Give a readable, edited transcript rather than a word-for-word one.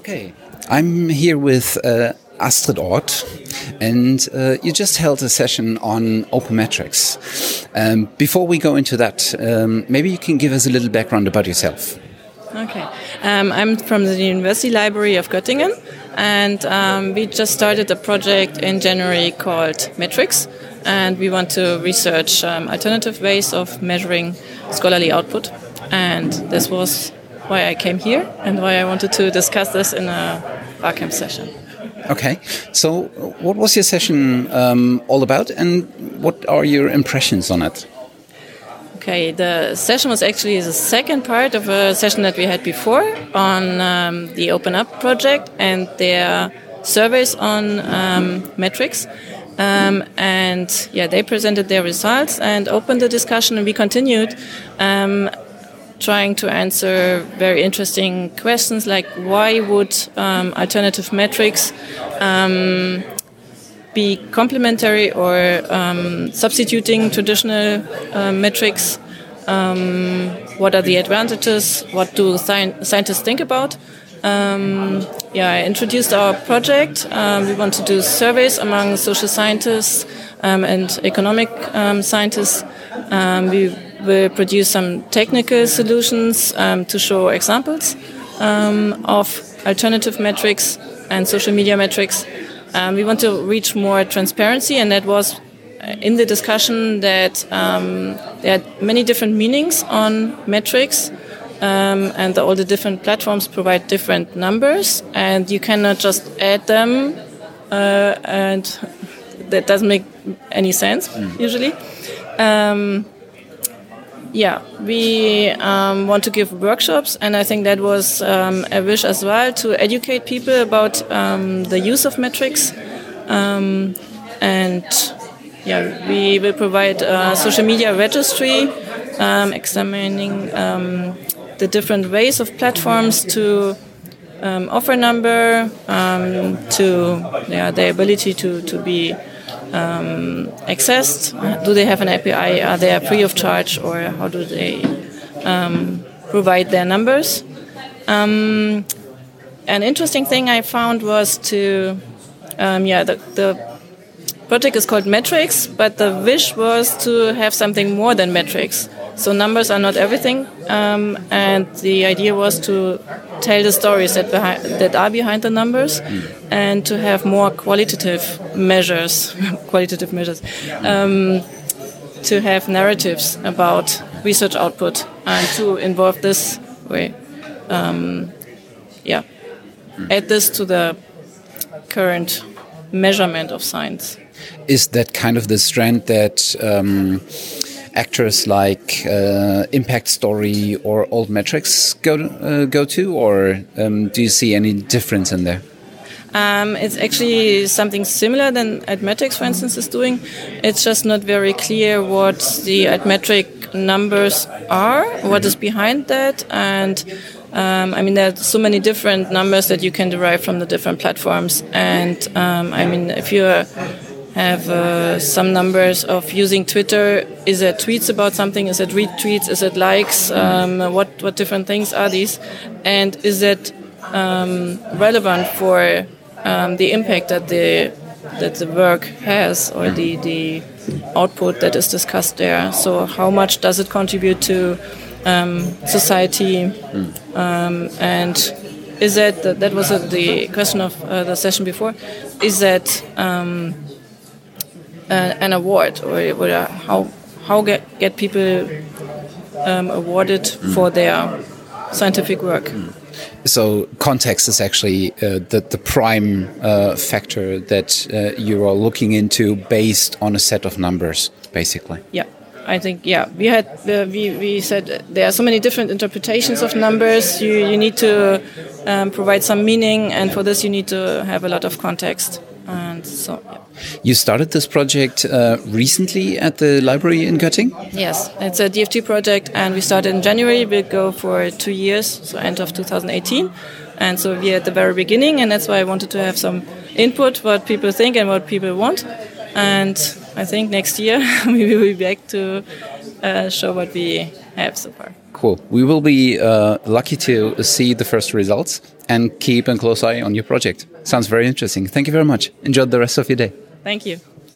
Okay, I'm here with Astrid Ort, and you just held a session on open metrics. Before we go into that, maybe you can give us a little background about yourself. Okay, I'm from the University Library of Göttingen, and we just started a project in January called Metrics, and we want to research alternative ways of measuring scholarly output, and this was why I came here and why I wanted to discuss this in a Barcamp session. Okay, so what was your session all about, and what are your impressions on it? Okay, the session was actually the second part of a session that we had before on the Open Up project and their surveys on metrics. And yeah, they presented their results and opened the discussion, and we continued trying to answer very interesting questions like why would alternative metrics be complementary or substituting traditional metrics? What are the advantages? What do scientists think about? I introduced our project. We want to do surveys among social scientists and economic scientists. We will produce some technical solutions to show examples of alternative metrics and social media metrics. We want to reach more transparency, and that was in the discussion that there are many different meanings on metrics, and all the different platforms provide different numbers, and you cannot just add them, and that doesn't make any sense usually. We want to give workshops, and I think that was a wish as well to educate people about the use of metrics. We will provide a social media registry examining the different ways of platforms to offer number, their ability to be accessed. Do they have an API? Are they free of charge, or how do they provide their numbers? An interesting thing I found was the project is called Metrics, but the wish was to have something more than metrics. So numbers are not everything, and the idea was to tell the stories that are behind the numbers, and to have more qualitative measures, to have narratives about research output, and to involve this way, add this to the current measurement of science. Is that kind of the strand that actors like Impact Story or Old Metrics go to, or do you see any difference in there? It's actually something similar than Admetrics, for instance, is doing. It's just not very clear what the Admetric numbers are, what is behind that, and there are so many different numbers that you can derive from the different platforms. And if you have some numbers of using Twitter, is it tweets about something? Is it retweets? Is it likes? What different things are these? And is it relevant for the impact that the work has, or the output that is discussed there? So how much does it contribute to society? And is that was the question of the session before? Is that an award, or how get people awarded for their scientific work? So context is actually the prime factor that you are looking into based on a set of numbers, basically. Yeah, I think we had we said there are so many different interpretations of numbers. You need to provide some meaning, and for this you need to have a lot of context. And so, You started this project recently at the library in Göttingen? Yes, it's a DFT project, and we started in January. We'll go for 2 years, so end of 2018. And so we're at the very beginning, and that's why I wanted to have some input, what people think and what people want. And I think next year we will be back to show what we have so far. Cool. We will be lucky to see the first results and keep a close eye on your project. Sounds very interesting. Thank you very much. Enjoy the rest of your day. Thank you.